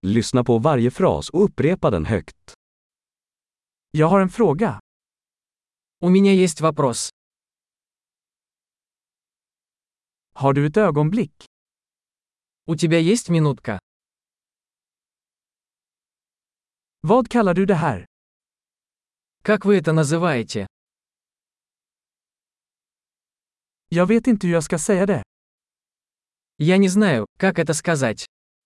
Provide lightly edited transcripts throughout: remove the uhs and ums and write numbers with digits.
Lyssna på varje fras och upprepa den högt. Jag har en fråga. У меня есть вопрос. Har du ett ögonblick? У тебя есть минутка? Vad kallar du det här? Как вы это называете? Jag vet inte hur jag ska säga det. Я не знаю, как это сказать.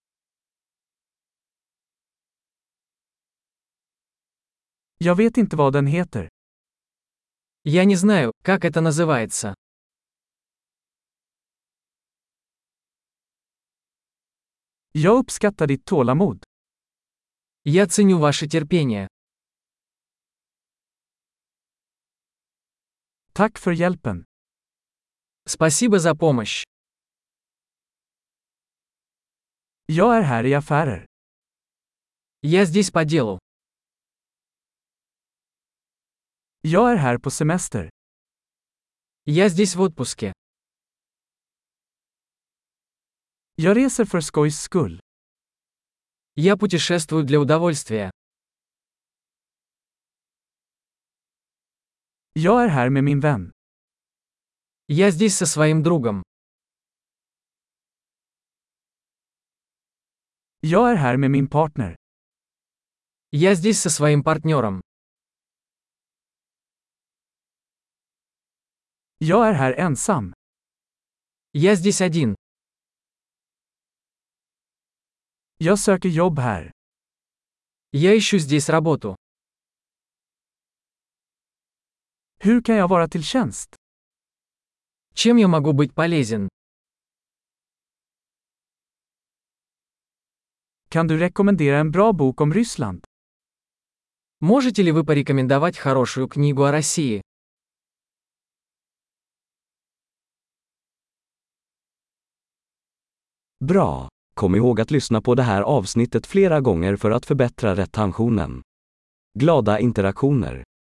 Jag vet inte vad den heter. Я не знаю, как это называется. Jag uppskattar ditt tålamod. Я ценю ваше терпение. Tack för hjälpen. Спасибо за помощь. Jag är här i affärer. Я здесь по делу. Jag är här på semester. Я здесь в отпуске. Jag reser för skojs skull. Я путешествую для удовольствия. Jag är här med min vän. Я здесь со своим другом. Jag är här med min partner. Я здесь со своим партнером. Jag är här ensam. Я здесь один. Jag söker jobb här. Я ищу здесь работу. Hur kan jag vara till tjänst? Чем я могу быть полезен? Kan du rekommendera en bra bok om Ryssland? Можете ли вы порекомендовать хорошую книгу о России? Bra! Kom ihåg att lyssna på det här avsnittet flera gånger för att förbättra retentionen. Glada interaktioner!